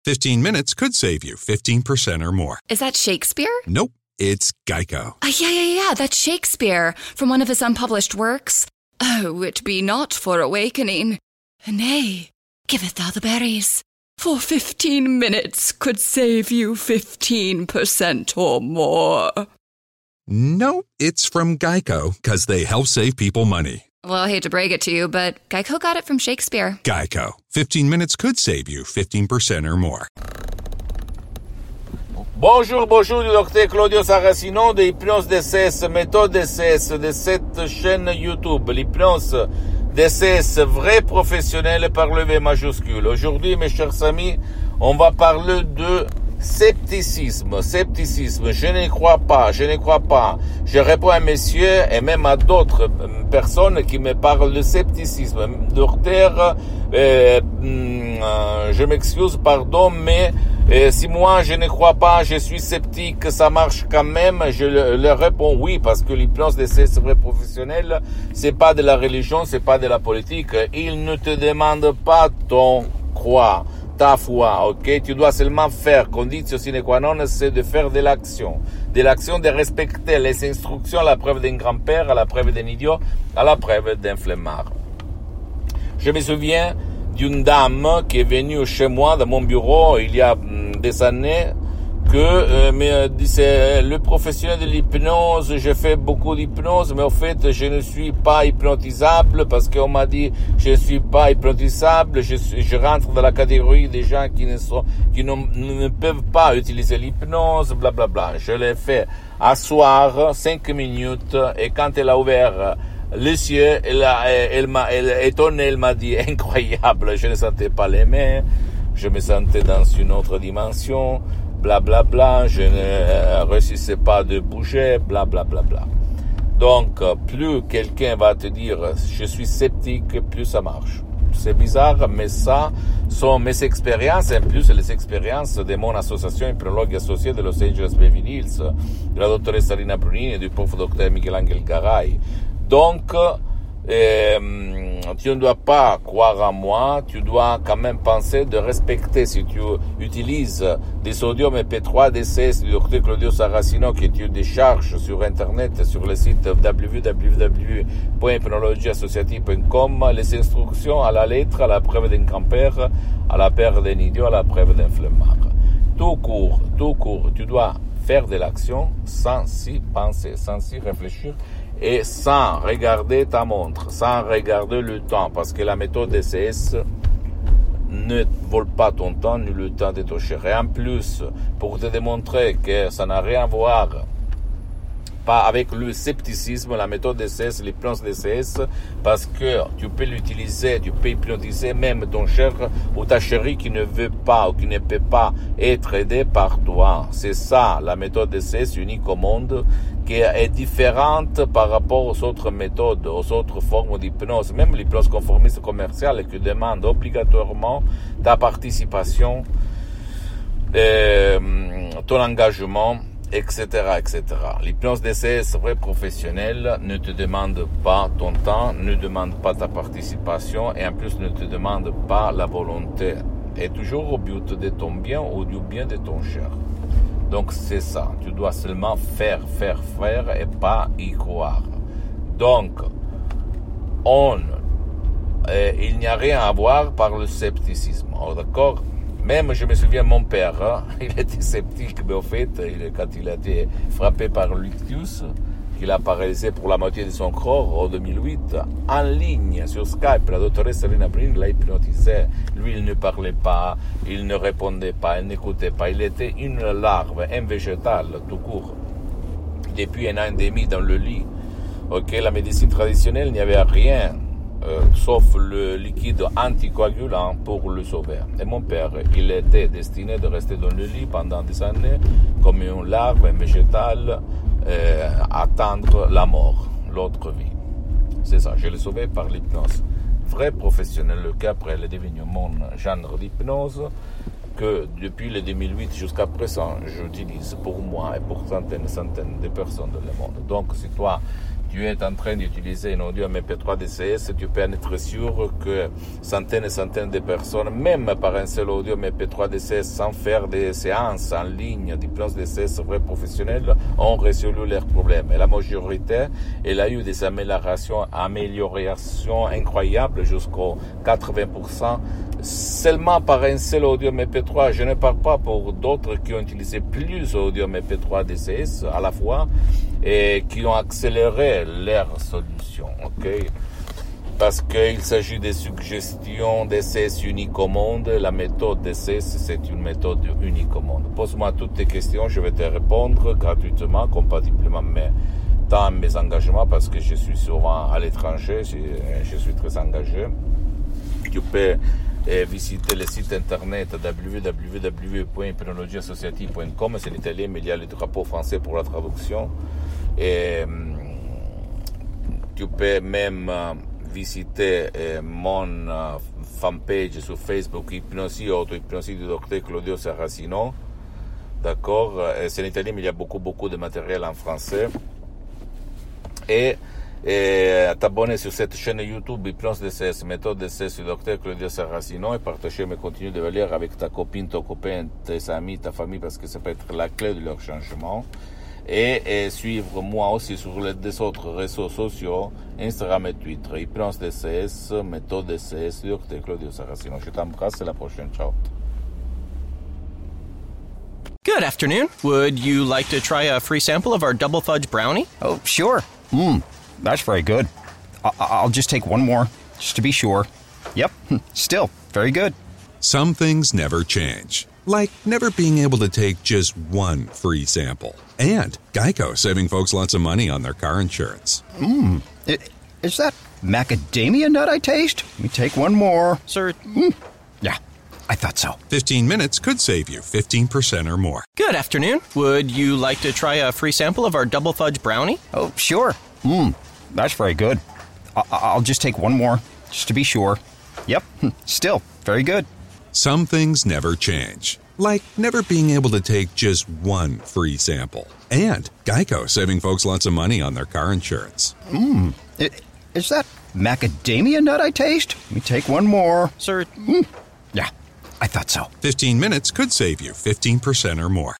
15 minutes could save you 15% or more. Is that Shakespeare? Nope, it's Geico. Yeah, that's Shakespeare from one of his unpublished works. Oh, it be not for awakening. Nay, giveth thou the berries. For 15 minutes could save you 15% or more. Nope, it's from Geico, because they help save people money. Well, I hate to break it to you, but Geico got it from Shakespeare. Geico. 15 minutes could save you 15% or more. Bonjour, du docteur Claudio Saracino de Hypnose DCS, méthode DCS de cette chaîne YouTube, l'hypnose DCS vrai professionnel par le V majuscule. Aujourd'hui, mes chers amis, on va parler de scepticisme. Je ne crois pas. Je réponds à messieurs et même à d'autres personnes qui me parlent de scepticisme. Docteur, je m'excuse, pardon, mais si moi je ne crois pas, je suis sceptique, ça marche quand même, je leur réponds oui, parce que l'hypnose de ces vrais professionnels, c'est pas de la religion, c'est pas de la politique. Ils ne te demandent pas ton croix, ta foi, ok? Tu dois seulement faire, condition sine qua non, c'est de faire de l'action, de respecter les instructions à la preuve d'un grand-père, à la preuve d'un idiot, à la preuve d'un flemmard. Je me souviens d'une dame qui est venue chez moi dans mon bureau il y a des années que me disait le professionnel de l'hypnose, je fais beaucoup d'hypnose, mais au fait je ne suis pas hypnotisable parce qu'on m'a dit je ne suis pas hypnotisable, je rentre dans la catégorie des gens qui ne peuvent pas utiliser l'hypnose, blablabla. Je l'ai fait asseoir 5 minutes et quand elle a ouvert les yeux, elle m'a étonné, elle m'a dit incroyable, je ne sentais pas les mains, je me sentais dans une autre dimension, blablabla, je ne réussissais pas de bouger, blablabla. Donc, plus quelqu'un va te dire je suis sceptique, plus ça marche. C'est bizarre, mais ça sont mes expériences, et en plus les expériences de mon association hypnologue associée de Los Angeles Beverly Hills, de la doctoressa Rina Brunini et du prof docteur Michelangelo Garay. Donc, tu ne dois pas croire en moi, tu dois quand même penser de respecter si tu utilises des sodium MP3 DCS du docteur Claudio Saracino que tu décharges sur internet, sur le site www.hypnologieassociative.com, les instructions à la lettre, à la preuve d'un grand-père, à la preuve d'un idiot, à la preuve d'un flemmard. Tout court, tu dois faire de l'action sans y penser, sans y réfléchir et sans regarder ta montre, sans regarder le temps, parce que la méthode DCS ne vole pas ton temps ni le temps de ton cher. Et en plus, pour te démontrer que ça n'a rien à voir pas avec le scepticisme, la méthode DCS, l'hypnose DCS, parce que tu peux l'utiliser, tu peux hypnotiser même ton cher ou ta chérie qui ne veut pas ou qui ne peut pas être aidé par toi. C'est ça, la méthode DCS unique au monde, qui est différente par rapport aux autres méthodes, aux autres formes d'hypnose, même l'hypnose conformiste commerciale qui demande obligatoirement ta participation, ton engagement, etc. L'hypnose DCS vrai professionnel ne te demande pas ton temps, ne demande pas ta participation et en plus ne te demande pas la volonté. Et toujours au but de ton bien ou du bien de ton cher. Donc c'est ça, tu dois seulement faire et pas y croire. Donc, il n'y a rien à voir par le scepticisme. Oh, d'accord? Même, je me souviens, mon père, il était sceptique, mais au fait, quand il a été frappé par l'ictus, qu'il a paralysé pour la moitié de son corps en 2008, en ligne, sur Skype, la doctoresse Rina Brunini l'a hypnotisé. Lui, il ne parlait pas, il ne répondait pas, il n'écoutait pas. Il était une larve, un végétal, tout court. Depuis un an et demi dans le lit. Ok, la médecine traditionnelle, il n'y avait rien. Sauf le liquide anticoagulant pour le sauver. Et mon père, il était destiné de rester dans le lit pendant des années, comme une larve, un végétal, attendre la mort, l'autre vie. C'est ça, je l'ai sauvé par l'hypnose. Vrai professionnel, le cas après, il est devenu mon genre d'hypnose que depuis le 2008 jusqu'à présent, j'utilise pour moi et pour centaines de personnes dans le monde. Donc, si toi, tu es en train d'utiliser un audio MP3 DCS, tu peux en être sûr que centaines et centaines de personnes, même par un seul audio MP3 DCS, sans faire des séances en ligne d'hypnose DCS vrais professionnels, ont résolu leurs problèmes. Et la majorité, elle a eu des améliorations incroyables, jusqu'au 80%, seulement par un seul audio MP3. Je ne parle pas pour d'autres qui ont utilisé plus audio MP3 DCS à la fois et qui ont accéléré leur solution, ok? Parce qu'il s'agit de suggestions DCS uniques au monde. La méthode DCS, c'est une méthode unique au monde. Pose-moi toutes tes questions, je vais te répondre gratuitement, compatiblement dans mes engagements, parce que je suis souvent à l'étranger, je suis très engagé. Tu peux visiter le site internet www.hypnologieassociative.com, c'est en italien, mais il y a le drapeau français pour la traduction. Et tu peux même visiter mon fanpage sur Facebook, Hypnosie, auto-hypnosie du docteur Claudio Saracino. D'accord? C'est en italien, mais il y a beaucoup de matériel en français. Et t'abonner sur cette chaîne YouTube Hypnose DCS, méthode DCS du docteur Claudio Saracino, et partager mes contenus de valeur avec ta copine, ton copain, tes amis, ta famille, parce que ça peut être la clé de leur changement. Et suivre moi aussi sur les autres réseaux sociaux, Instagram et Twitter, Hypnose DCS, méthode DCS, docteur Claudio Saracino. Je t'embrasse, à la prochaine, ciao. Good afternoon. Would you like to try a free sample of our double fudge brownie? Oh, sure. That's very good. I'll just take one more, just to be sure. Yep, still very good. Some things never change, like never being able to take just one free sample. And Geico saving folks lots of money on their car insurance. Is that macadamia nut I taste? Let me take one more. Sir? Yeah, I thought so. 15 minutes could save you 15% or more. Good afternoon. Would you like to try a free sample of our double fudge brownie? Oh, sure. That's very good. I'll just take one more, just to be sure. Yep, still very good. Some things never change, like never being able to take just one free sample. And Geico saving folks lots of money on their car insurance. Is that macadamia nut I taste? Let me take one more. Sir? Yeah, I thought so. 15 minutes could save you 15% or more.